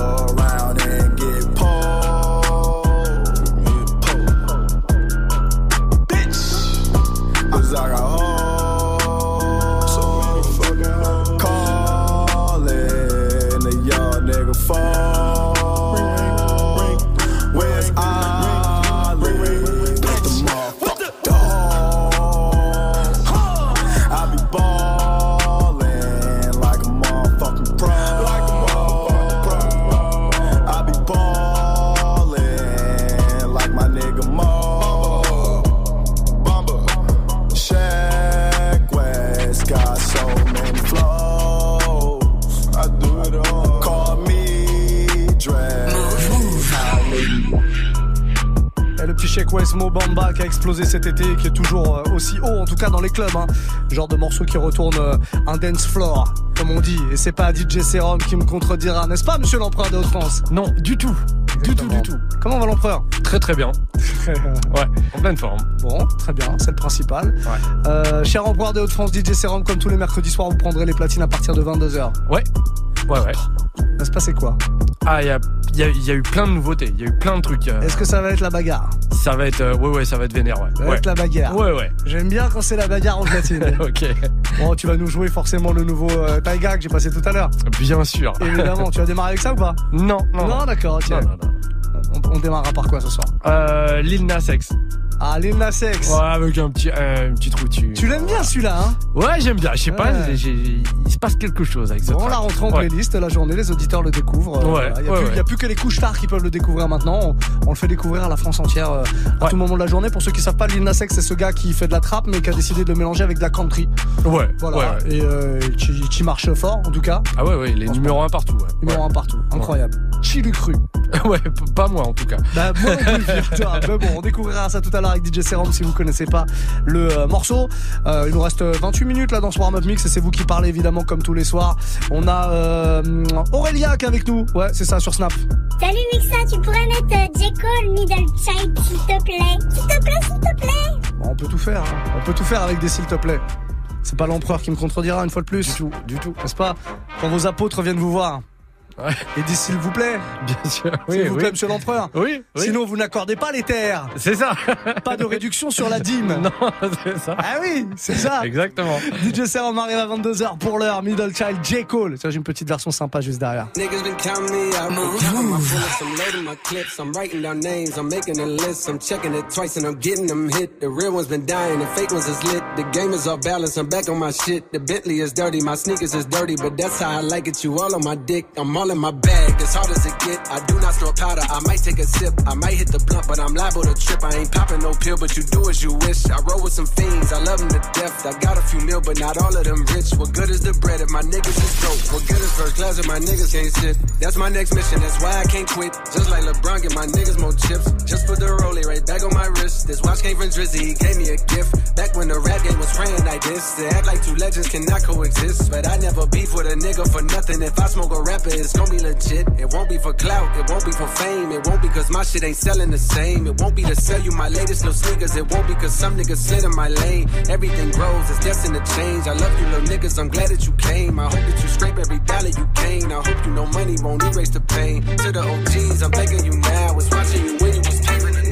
Sheik Wes Mo Bamba qui a explosé cet été et qui est toujours aussi haut, en tout cas dans les clubs, hein. Genre de morceau qui retourne un dance floor, comme on dit. Et c'est pas D J Serum qui me contredira, n'est-ce pas, monsieur l'empereur des Hauts-de-France?
Non, du tout. Du tout, du tout.
Comment va l'empereur?
Très très bien. Ouais, en pleine forme.
Bon, très bien, c'est le principal.
Ouais.
Euh, cher empereur des Hauts-de-France, D J Serum, comme tous les mercredis soirs, vous prendrez les platines à partir de vingt-deux heures.
Ouais. Ouais, ouais.
Ça se passait quoi?
Ah, il y a, y, a, y a eu plein de nouveautés, il y a eu plein de trucs. Euh...
Est-ce que ça va être la bagarre?
Ça va être, euh, ouais, ouais, ça va être vénère, ouais.
Ça va
ouais.
être la bagarre.
Ouais, ouais.
J'aime bien quand c'est la bagarre en platine.
Ok.
Bon, tu vas nous jouer forcément le nouveau euh, Taiga que j'ai passé tout à l'heure.
Bien sûr.
Évidemment, tu vas démarrer avec ça ou pas?
Non, non.
Non, d'accord, ok.
Non, non, non.
On, on démarrera par quoi ce soir?
Euh, Lil Nas X.
Ah, Lil Nas X.
Ouais, avec un petit, euh, une petite routine.
Tu l'aimes bien celui-là, hein?
Ouais, j'aime bien. Je sais
ouais.
pas, j'ai, j'ai, il se passe quelque chose avec ça.
Bon, on la rentre en
ouais.
playlist, la journée, les auditeurs le découvrent.
Ouais.
Voilà. Il n'y a,
ouais, ouais.
a plus que les couches stars qui peuvent le découvrir maintenant. On, on le fait découvrir à la France entière euh, à
ouais.
tout moment de la journée. Pour ceux qui savent pas, Lil Nas X, c'est ce gars qui fait de la trap, mais qui a décidé de le mélanger avec de la country.
Ouais.
Voilà.
Ouais, ouais.
Et euh, qui, qui marche fort, en tout cas.
Ah ouais, ouais, les numéros un partout. Ouais.
Numéro
ouais.
un partout. Incroyable. Ouais. Qui l'eût cru?
Ouais, pas moi en tout cas.
Bah, moi non plus, figure-toi. Mais bon, on découvrira ça tout à l'heure avec D J Serum si vous connaissez pas le euh, morceau. Euh, il nous reste vingt-huit minutes là dans ce warm-up mix et c'est vous qui parlez évidemment comme tous les soirs. On a euh, Aurélia qui est avec nous. Ouais, c'est ça, sur Snap.
Salut Mixa, tu pourrais mettre euh, J. Cole, Middle Child, s'il te plaît. S'il te plaît, s'il te plaît.
Bon, on peut tout faire. Hein. On peut tout faire avec des s'il te plaît. C'est pas l'empereur qui me contredira une fois de plus.
Du tout, du tout.
N'est-ce pas? Quand vos apôtres viennent vous voir.
Ouais.
Et dit s'il vous plaît.
Bien sûr.
S'il
oui,
vous
oui.
plaît, monsieur l'empereur.
Oui, oui.
Sinon, vous n'accordez pas les terres.
C'est ça.
Pas de réduction sur la dîme.
Non, c'est ça.
Ah oui, c'est ça.
Exactement.
D J Serum arrive à vingt-deux heures pour l'heure. Middle Child, J. Cole. Ça, j'ai une petite version sympa juste derrière.
Niggas been counting me out. I'm counting my bullets, I'm loading my clips. I'm writing down names, I'm making a list. I'm checking it twice and I'm getting them hit. The real ones been dying, the fake ones is lit. The game is off balance, I'm back on my shit. The Bentley is dirty, my sneakers is dirty, but that's how I like it. You all on my dick, I'm all in my bag. As hard as it get, I do not store powder. I might take a sip, I might hit the blunt, but I'm liable to trip. I ain't popping no pill, but you do as you wish. I roll with some fiends, I love them to death. I got a few mil, but not all of them rich. What good is the bread if my niggas is broke? What good is first class if my niggas can't sit? That's my next mission, that's why I can't quit. Just like LeBron, get my niggas more chips. Just put the rollie right back on my wrist. This watch came from Drizzy, he gave me a gift. Back when the rap game was praying like this. They act like two legends cannot coexist. But I never beef with a nigga for nothing. If I smoke a rapper, it's gon' be legit. It won't be for clout, it won't be for fame. It won't be cause my shit ain't selling the same. It won't be to sell you my latest little sneakers. It won't be cause some niggas slid in my lane. Everything grows, it's destined to change. I love you little niggas, I'm glad that you came. I hope that you scrape every dollar you gain. I hope you know money won't erase the pain. To the O Gs, I'm thanking you now. Was watching you when you was taping the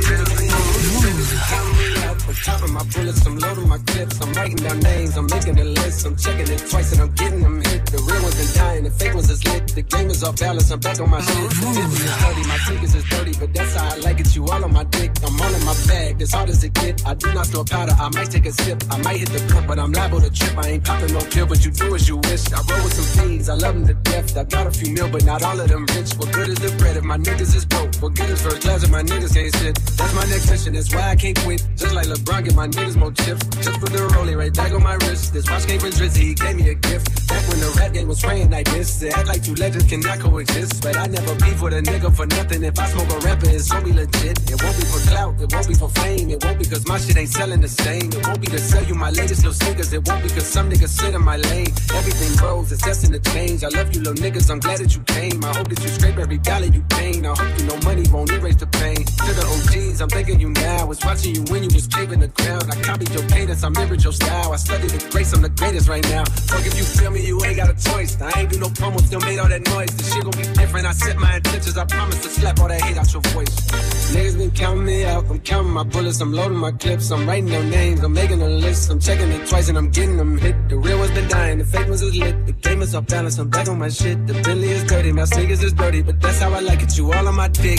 I'm counting my bullets, I'm loading my clips. I'm writing down names, I'm making a list. I'm checking it twice and I'm getting them hit. The real ones been dying, the fake ones is lit. The game is off balance, I'm back on my shit. The Bentley is dirty, my sneakers is dirty, but that's how I like it. You all on my dick, I'm all in my bag. As hard as it get, I do not store powder. I might take a sip, I might hit the blunt, but I'm liable to trip. I ain't popping no pill, but you do as you wish. I roll with some fiends, I love them to death. I got a few mil, but not all of them rich. What good is the bread if my niggas is broke? What good is first class if my niggas can't sit? That's my next mission, that's why I can't quit. Just like LeBron, get my niggas more chips. Just put the rollie right back on my wrist. This watch came from Drizzy, he gave me a gift. Back when the rap game was praying like this. They act like two legends cannot coexist. But I never beef with a nigga for nothing. If I smoke a rapper, it's gon' be legit. It won't be for clout, it won't be for fame. It won't be cause my shit ain't selling the same. It won't be to sell you my latest little sneakers. It won't be cause some niggas sit in my lane. Everything grows, it's destined to change. I love you little niggas, I'm glad that you came. I hope that you scrape every dollar you gain. I hope you know money won't erase the pain. To the O Gs, I'm thanking you now. Was watching you when you was paving the ground. I copied your cadence, I mirrored your style. I studied the grace, I'm the greatest right now. Fuck if you feel me, you ain't got a choice. I ain't do no promo, still made all that noise. This shit gon' be different, I set my intentions. I promise to slap all that hate out your voice. Niggas been counting me out, I'm counting my bullets, I'm loading my clips. I'm writing down names, I'm making a list. I'm checking it twice and I'm getting them hit. The real ones been dying, the fake ones is lit. The game is off balance, I'm back on my shit. The Bentley is dirty, my sneakers is dirty, but that's how I like it, you all on my dick.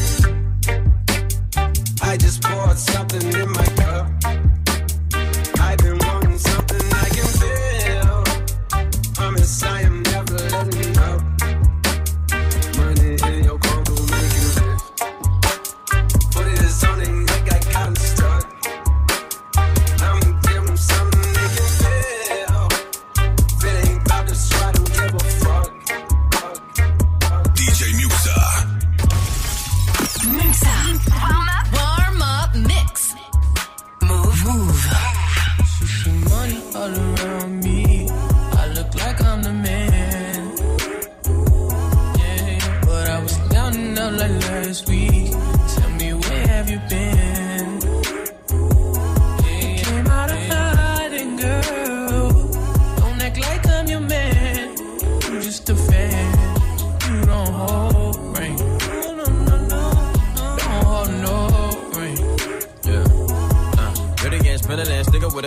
I just poured something in my cup. I've been wanting something I can feel. Promise I am never letting up. Money in your condo make you live. Put it on and they got cotton stuck. I'ma give them something they can feel. If it ain't about to try to give a fuck.
D J Muxa.
Muxa. Warm up. Warm up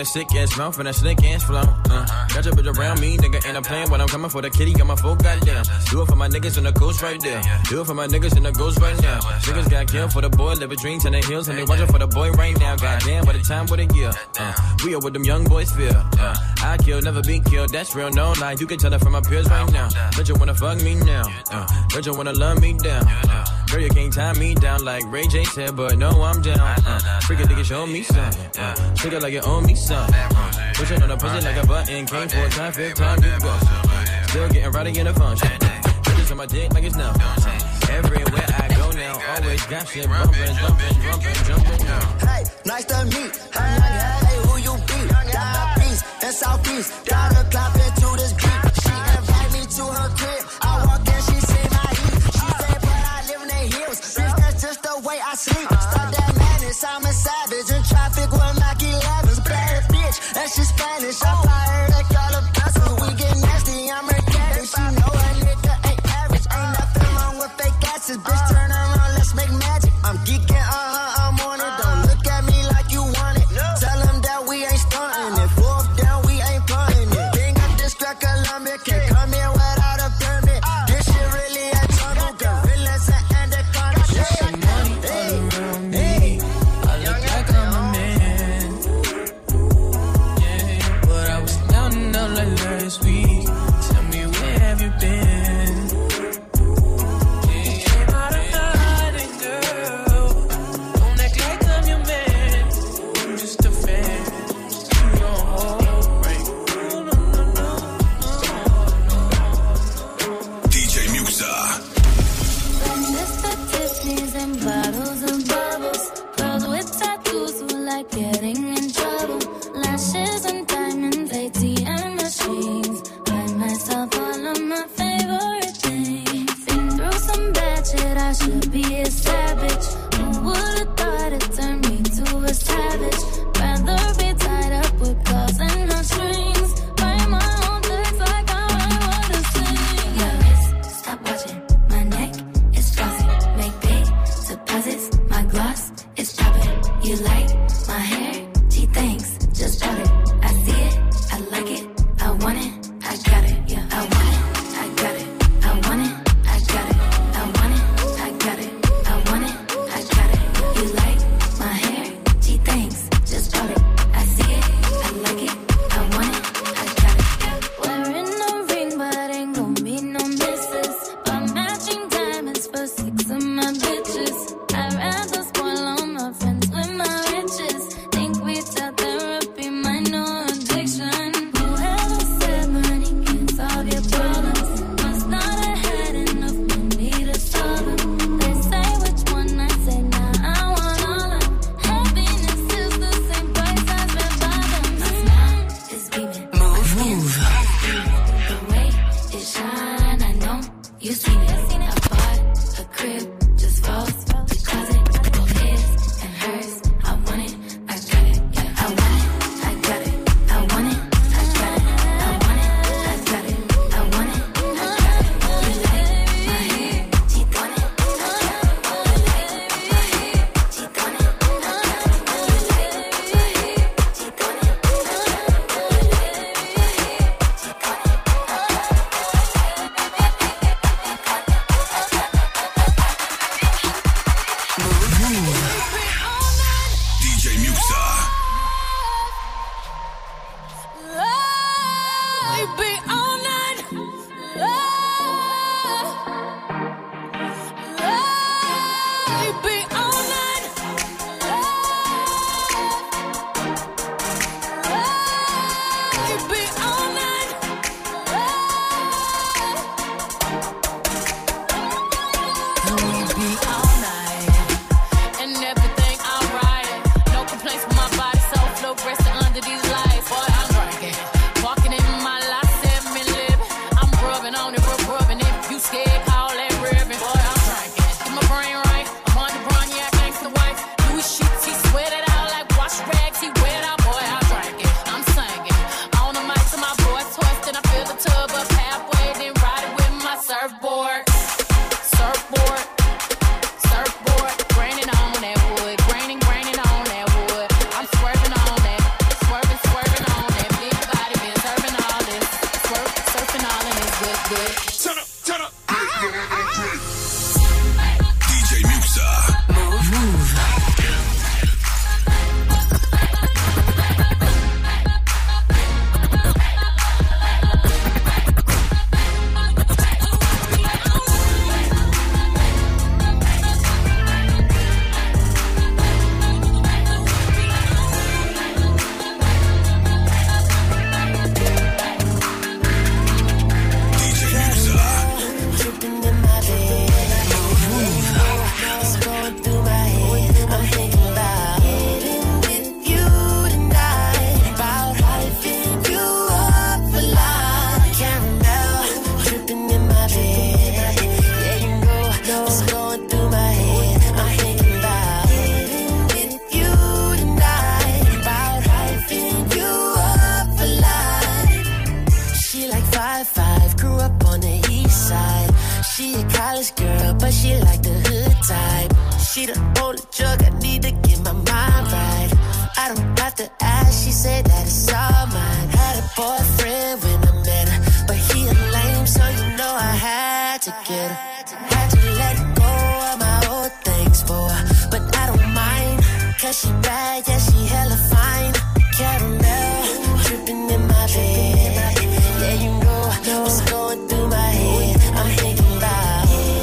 that sick ass mouth and that slick ass flow. Uh, got your bitch around me, nigga, and I'm playing when I'm coming for the kitty. Got my full goddamn. Do it for my niggas in the coast right there. Do it for my niggas in the ghost right now. Niggas got killed for the boy, live a dream to the hills, and they watching for the boy right now. Goddamn, by the time what a year. Uh, we are what them young boys feel. Uh, I kill, never be killed. That's real, no lie. You can tell it from my peers right now. But you wanna fuck me now. Uh, but you wanna love me down. Uh, girl, you can't tie me down like Ray J said, but no, I'm down. Uh, freaking nigga, show me something. Uh, Treat it like you owe me something. Uh, push it on the pussy like a button. Came for a time, fifth time, you go. Still getting rowdy in the function. Bitches on my dick like it's nothing. Everywhere I go now, always got shit bumping, jumping, jumping, jumping.
Hey, nice to meet. Hey, hey, who you be? Down East and Southeast. Down the clock into this beat. She invite me to her crib. I walk in, she say my heat. She say, but I live in the hills. Bitch, that's just the way I sleep. Start that madness, I'm a savage. In traffic with Mac elevens. Bad bitch, and she Spanish. I fly her like all the vessels. We get nasty, I'm her caddy. She know a nigga ain't average. Ain't nothing wrong with fake asses. Bitch, turn around, let's make magic. I'm geeking, uh-huh, I'm on it. Don't look at me like you want it. Tell them that we ain't stunting it. Fourth down, we ain't punting it. King of District Columbia, can't come here without a permit. This shit really a jungle. Gorillas and anacondas.
Some money all around me. I look like I'm a man. Yeah, but I was counting up like last week. Tell me, where have you been? Yeah, out of hiding, girl. Don't act like I'm your man. I'm just a fan. You don't hold right. No, no, no, no.
D J Muxa.
Mister Tiffany's and bottles of bubbles. Girls with tattoos who like getting in trouble. Lashes and diamonds, A T M machines. Buy myself all of my favorite things. Been through some bad shit, I should be a savage. Who would've thought it turned me to a savage? Rather be tied up with calls and no strings. Write my own lyrics like I write what I sing. My wrist, stop watching. My neck is flossy. Make big deposits. My gloss is popping. You like my hair? Gee, thanks. Just bought it. I see it. I like it. I want it. I got it. Yeah, I want it. I got it. I want it. I got it. I want it. I got it. I want it. I got it. You like my hair? Gee, thanks. Just bought it. I see it. I like it. I want it. I got it. Wearing no ring, but ain't gon' be no misses. Buy matching diamonds for six of my bitches. I'd rather spoil all my friends with my riches. Think we tell therapy, my no addiction. Whoever said money can solve your problems must not have had enough money to solve them. They say which one, I say nah, I want all of them. Happiness is the same price as red bottoms. My smile is beaming. Move, move. The way it shine, I know you seen it. I bought a crib just for the closet, both his and hers. I want it, I got it. Yeah, I want it, I got it. I want it, I got it. I want it, I got it. I want it, I got it. You like my hair? She want it, I got it. You like my hair? She want it, I got it. You like my hair? She want it, I got it. You like my hair? She want it, I got it.
D J Muxa.
We be all night. We be all night. We be all night. We be all night. And everything alright. No complaints with my body, so flow resting under these lights. Boy, I'm working. Walking in my last seven
Turn up, turn up.
D J Muxa.
Move. Move.
She the only drug I need to get my mind right. I don't have to ask, she said that it's all mine. Had a boyfriend when I met her, but he a lame, so you know I had to get her. Had to let go of my old things for her, but I don't mind, cause she bad, yeah, she hella fine. Caramel, dripping in my bed. Yeah, you know what's going through my head. I'm thinking about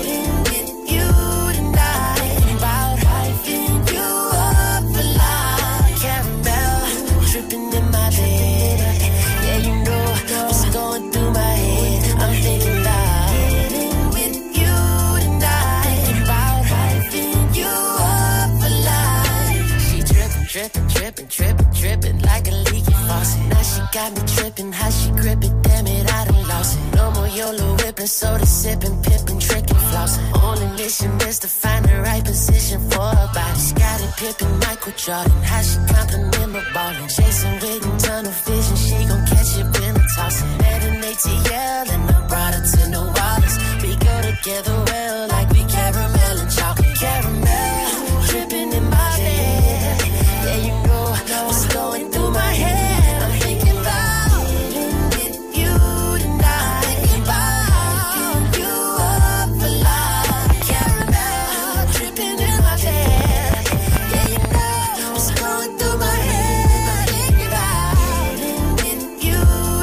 trippin', trippin', trippin', trippin' like a leaky faucet. Now she got me trippin', how she grip it, damn it, I done lost it. No more YOLO whippin', soda sippin', pippin', trickin', flossin'. Only mission is to find the right position for her body. Scottie Pippen, Michael Jordan, how she compliment my ballin'. Jason Witten, tunnel vision, she gon' catch it when I toss it. Met an A T L and I brought her to New Orleans. We go together well like we caramel and chocolate. Caramel, drippin' in my bed. Yeah, you know what's going through my head. I'm thinking about with you tonight. Thinking about you up for life. Caramel dripping in my bed. Yeah, you know what's going through my head. I'm thinking about with you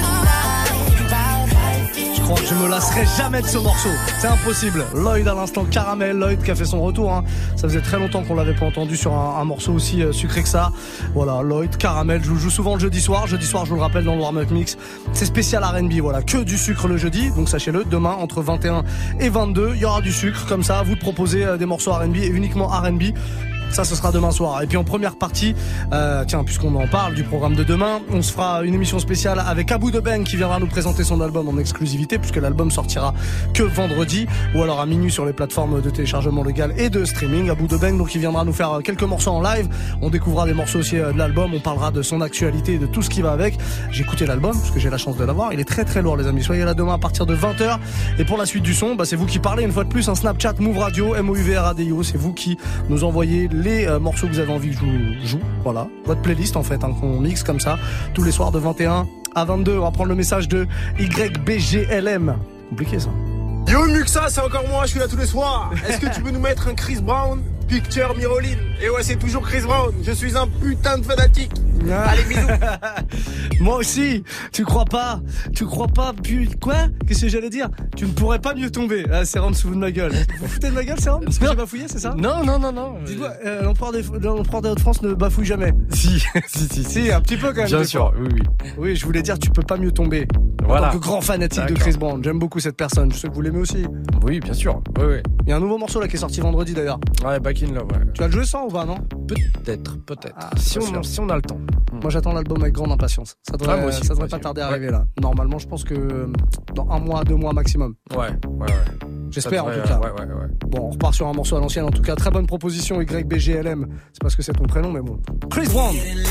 tonight.
Je crois que je me lasserai jamais de ce morceau. C'est impossible. Lloyd à l'instant, Caramel, Lloyd qui a fait son retour. Hein. Ça faisait très longtemps qu'on l'avait pas entendu sur un, un morceau aussi euh, sucré que ça. Voilà, Lloyd, Caramel. Je joue souvent le jeudi soir. Jeudi soir, je vous le rappelle dans le Warm Up Mix. C'est spécial R and B. Voilà, que du sucre le jeudi. Donc sachez-le, demain entre vingt et un et vingt-deux, il y aura du sucre comme ça. Vous de proposer euh, des morceaux R and B et uniquement R and B. Ça, ce sera demain soir. Et puis en première partie, euh, tiens, puisqu'on en parle du programme de demain, on se fera une émission spéciale avec Abou de Beng qui viendra nous présenter son album en exclusivité, puisque l'album sortira que vendredi, ou alors à minuit sur les plateformes de téléchargement légal et de streaming. Abou de Beng, donc il viendra nous faire quelques morceaux en live. On découvrira des morceaux aussi de l'album. On parlera de son actualité et de tout ce qui va avec. J'ai écouté l'album parce que j'ai la chance de l'avoir. Il est très très lourd, les amis. Soyez là demain à partir de vingt heures. Et pour la suite du son, bah, c'est vous qui parlez une fois de plus. Un Snapchat Move Radio, M O U V R A D I O. C'est vous qui nous envoyez les euh, morceaux que vous avez envie que je vous joue. Voilà, votre playlist en fait, hein, qu'on mixe comme ça tous les soirs de vingt et un à vingt-deux. On va prendre le message de Y B G L M. Compliqué ça.
Yo Muxa, c'est encore moi, je suis là tous les soirs. Est-ce que tu peux nous mettre un Chris Brown, Picture Miroline? Et ouais, c'est toujours Chris Brown. Je suis un putain de fanatique. Ah. Allez, bisous.
Moi aussi. Tu crois pas? Tu crois pas? Puis quoi? Qu'est-ce que j'allais dire? Tu ne pourrais pas mieux tomber. Ah, Serum se fout de ma gueule. Vous foutez de ma gueule, Serum? Parce que j'ai bafouillé, c'est ça?
Non, non, non, non.
Dis-moi, euh, l'empereur des, l'empereur des Hauts-de-France ne bafouille jamais.
Si, si, si,
si, un petit peu quand même.
Bien sûr, oui, oui.
Oui, je voulais dire, tu peux pas mieux tomber.
Voilà.
En tant que grand fanatique
D'accord.
de Chris Brown. J'aime beaucoup cette personne. Je sais que vous l'aimez aussi.
Oui, bien sûr. Oui, oui.
Il y a un nouveau morceau là qui est sorti vendredi d'ailleurs.
Ouais, Back in Love, ouais.
Tu vas le jouer sans ou pas, non?
Peut-être, peut-être.
Ah,
si,
on,
si on a le temps.
Moi j'attends l'album avec grande impatience. Ça devrait,
ah, moi aussi,
ça devrait
moi
pas
aussi.
tarder à
Ouais.
arriver là. Normalement, je pense que dans un mois, deux mois maximum.
Ouais, ouais, ouais.
J'espère
devrait,
en tout cas.
Ouais, ouais, ouais.
Bon, on repart sur un morceau à l'ancienne. En tout cas, très bonne proposition Y B G L M. C'est parce que c'est ton prénom, mais bon. Chris Brown.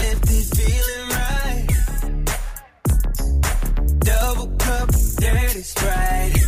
Double cup, dirty Sprite.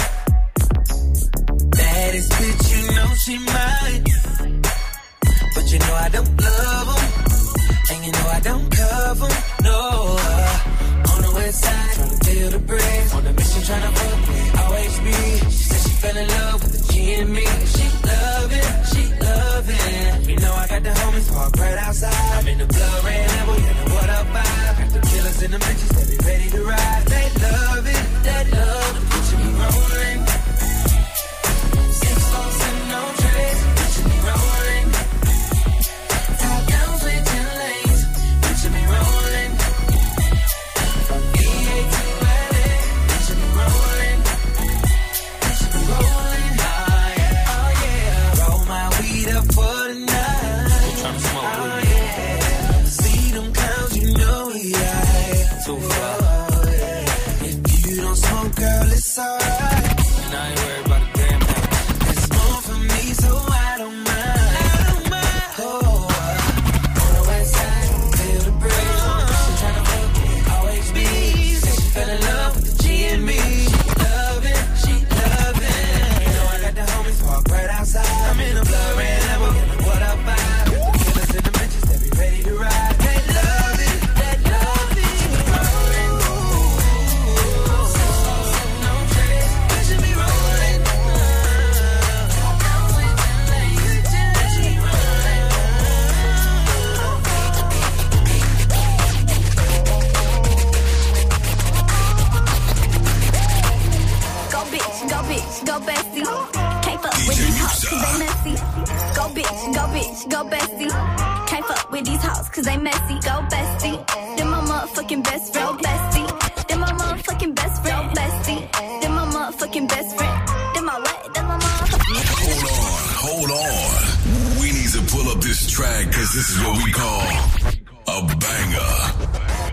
Baddest bitch, you know she mine. But you know I don't love 'em, and you know I don't cover 'em, no. On the west side, tryna feel the breeze. On the mission, tryna fuck with O H B. She said she fell in love with the G and me. She love it, she love it. You know I got the homies parked right outside. I'm in the blood red Lambo, you know what up vibe. Got the killers in the bitches, they be ready to ride. They love it, they love the picture me rolling. Six folks and no trays, picture me rolling. Top downs with ten lanes, picture me rolling. E A to L A, picture me rolling. Picture me rolling, oh yeah, oh yeah. Roll my weed up for the night. Tryna smoke oh yeah. See them clowns, you know we high. Too far. If you don't smoke, girl, it's alright. And I ain't worried about a damn thing. It's more for me, so I don't mind. I don't mind. Oh, on the west side, feel the breeze. She tryna fuck with O H B. Said she fell in love with the G and me. She love it, she love it. You know I got the homies parked right outside. I'm in a blood red Lambo, you know what up vibe. The killers in the bitches, they be ready to ride. They love it, they love it. Rolling, no trace, picture me rolling.
Go bitch, go bitch, go bestie. Can't fuck with these hoes cause they messy. Go bitch, go bitch, go bestie. Can't fuck with these hoes cause they messy. Go bestie. Then my motherfucking best friend, bestie. Then my motherfucking best friend, bestie. Then my motherfucking best friend. Then my what? Then my motherfucking.
Hold on, hold on. We need to pull up this track because this is what we call a banger.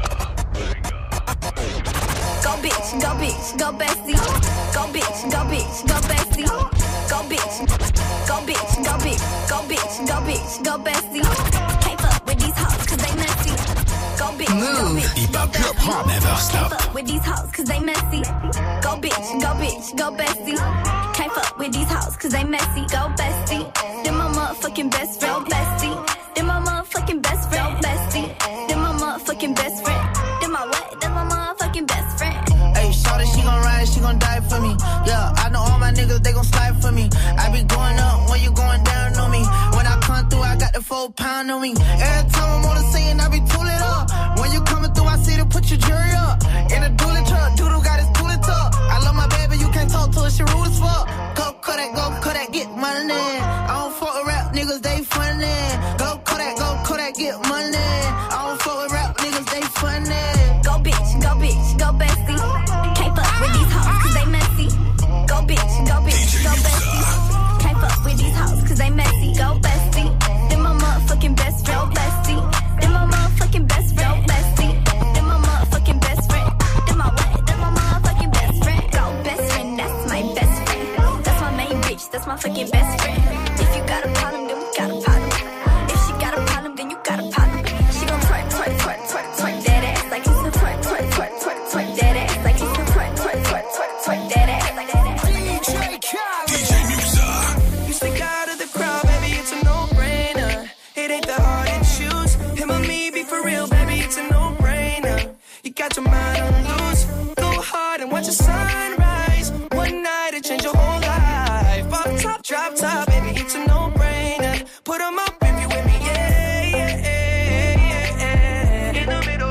Go bitch, go bitch, go bestie. Go bitch, go bitch, go bestie. Go bitch, go bitch, go bitch, go bitch, go bitch, go bestie. Can't fuck with these hoes cause they messy. Go bitch, go bitch,
Hip hop, hip hop, never stop.
Can't fuck with these hoes cause they messy. Go bitch, go bitch, go bestie. Can't fuck with these hoes cause they messy. Go bestie. Then my motherfucking best friend, bestie. Then my motherfucking best friend, bestie. Then my motherfucking best friend. Then my what? Then my motherfucking best friend.
Hey, shorty, she gon' ride, she gon' die for me. Yeah, I know all my niggas, they gon' slide for me. I be going up when you going down on me. When I come through, I got the full pound on me. Every time I'm on the scene, I be tooling up. When you coming through, I see to put your jury up. In a dually truck, Doodle got his tooling tuck. I love my baby, you can't talk to her, she rude as fuck. Go Kodak, go Kodak, get money. I don't fuck with rap niggas, they funny. Go Kodak, go Kodak, get money. I don't fuck with rap niggas, they funny.
Go bitch, go bitch, go bestie. Can't fuck with these hoes cause they messy. Go bitch, go bitch, go bestie. Can't fuck with these hoes cause they messy. Go bestie. Then my motherfucking best friend, bestie. Then my motherfucking best friend, bestie. Then my motherfucking best friend. Then my what? Then my motherfucking best friend. Go best friend, that's my best friend. That's my main bitch, that's my fucking best friend. If you got a problem, then we got a problem. If she got a problem, then you got a problem. She gon' twerk, twerk, twerk, twerk, twerk that ass like it's a twerk, twerk, twerk, twerk, twerk that ass like it's a twerk, twerk, twerk, twerk, twerk that ass like that.
D J Musa.
You stick out of the crowd, baby, it's a no-brainer. It ain't that hard to choose. Him or me, be for real, baby, it's a no-brainer. You got your mind on loose. Go hard and watch the sunrise. One night it change your whole life. Off top, drop top, baby, it's a no-brainer. Put 'em up if you with me, yeah, yeah, yeah, yeah. In the middle.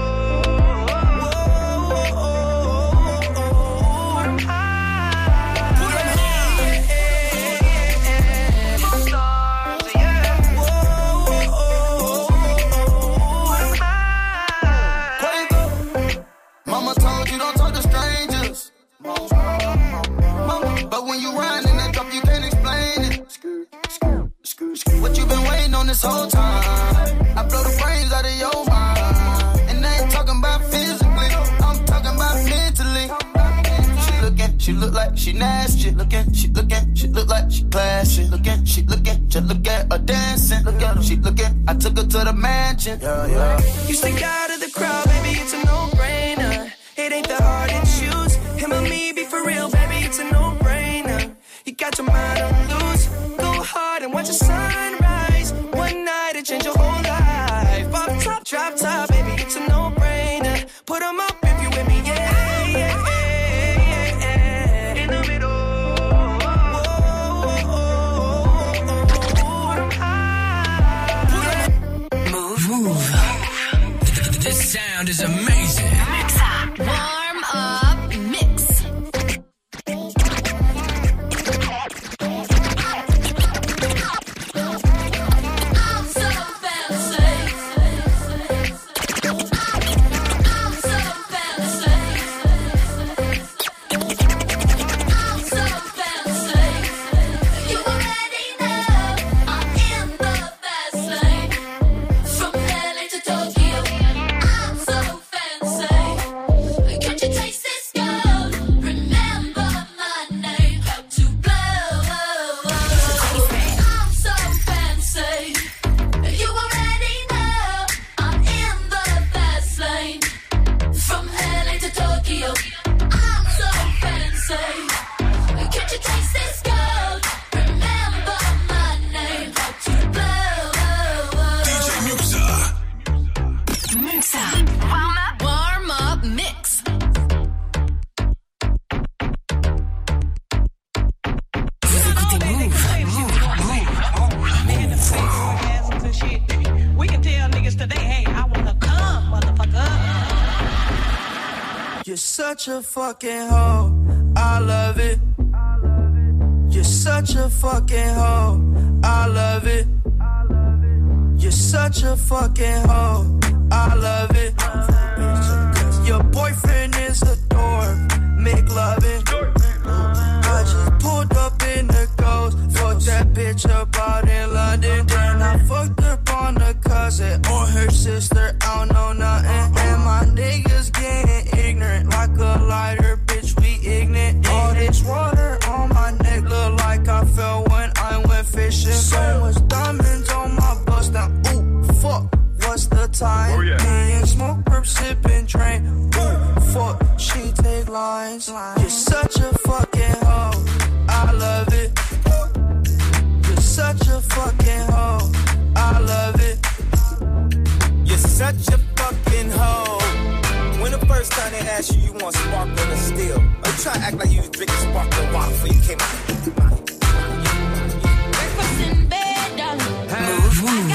Mama told you don't talk to strangers. But when you ride in that drop, you can't explain it. What you been waiting on this whole time? I blow the brains out of your mind. And I ain't talking about physically, I'm talking about mentally. She looking, she look like she nasty. Looking, she looking, she look like she classy. Looking, she looking, just look at her dancing. Look at her, she looking, I took her to the mansion. Yeah, yeah.
You stick out of the crowd, baby, it's a no-brainer. It ain't that hard to choose. Him or me, be for real, baby, it's a no-brainer. You got your mind on loose. Go hard and watch the sunrise. One night it change your whole life. Off top, drop top, baby, it's a no-brainer. Put 'em up if you with me, yeah, yeah, yeah, yeah, such a fucking hoe, I love it. You're such a fucking hoe, I love it. You're such a fucking hoe, I love it. Your boyfriend is a dork, make loving. I just pulled up in the ghost, fucked that bitch up out in London. Then I fucked up on the cousin or her sister, I don't know nothing. And my niggas getting ignorant like a lighter, bitch, we ignorant. All this water on my neck look like I fell when I went fishing. So much diamonds on my bust now, ooh, fuck, what's the time? Oh, yeah. Me and smoke, perp, sipping, drain, ooh, fuck, she take lines. You're such a fucking hoe, I love it. You're such a fucking hoe, I love it.
You're such a fucking hoe. When the first time they asked you, you want sparkling or still? Or you try to act like you was drinking sparkling water before you came out?
Breakfast in bed, darling.
Move, move.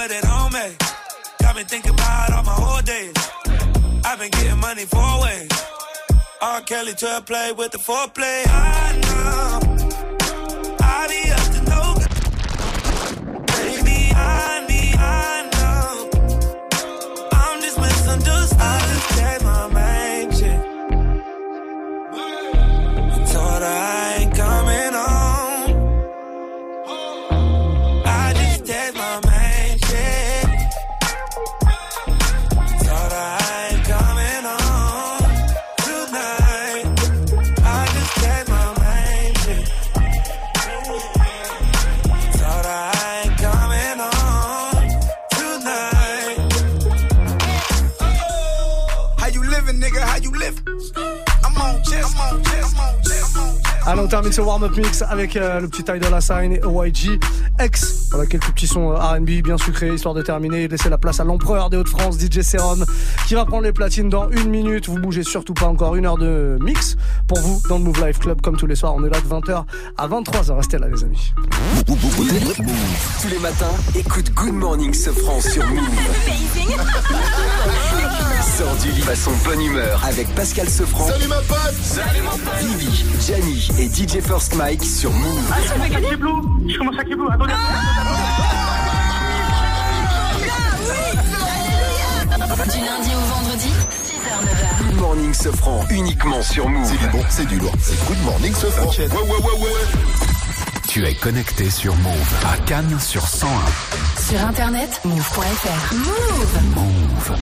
with it on me. Got me thinking about all my whole days. I've been getting money four ways. R. Kelly to play with the foreplay. I know I be up to no good. Baby, I need, I know I'm just misunderstood. I just gave my main chick. I told her I ain't coming home. I just gave my main chick. I told her I ain't coming home tonight. I just gave my main chick. Told her I ain't coming home tonight.
How you living, nigga? How you living? I'm on chest, I'm on chest, I'm on chest, I'm on chest.
Allez, on termine ce warm-up mix avec euh, le petit Tidal Assign et O Y G X. Voilà, quelques petits sons R and B bien sucrés, histoire de terminer et de laisser la place à l'empereur des Hauts-de-France, D J Serum, qui va prendre les platines dans une minute. Vous bougez surtout pas, encore une heure de mix pour vous dans le Move Life Club. Comme tous les soirs, on est là de vingt heures à vingt-trois heures. Restez là, les amis.
Tous les matins, écoute Good Morning Sofran sur Move. Sors du lit façon bonne humeur avec Pascal Sofran.
Salut ma pote.
Salut mon pote. Vivi, Gianni et D J First Mike sur Move.
Ah, je fais Kick Blue. Je commence à Kick Blue. Attendez.
Du lundi au vendredi, six heures neuf heures.
Good Morning Sofran, uniquement sur Move.
C'est du bon, c'est du lourd. C'est Good Morning Sofran. Ouais, ouais, ouais, ouais.
Tu es connecté sur Move à Cannes sur cent un.
Sur internet, move point f r. Move.
Move.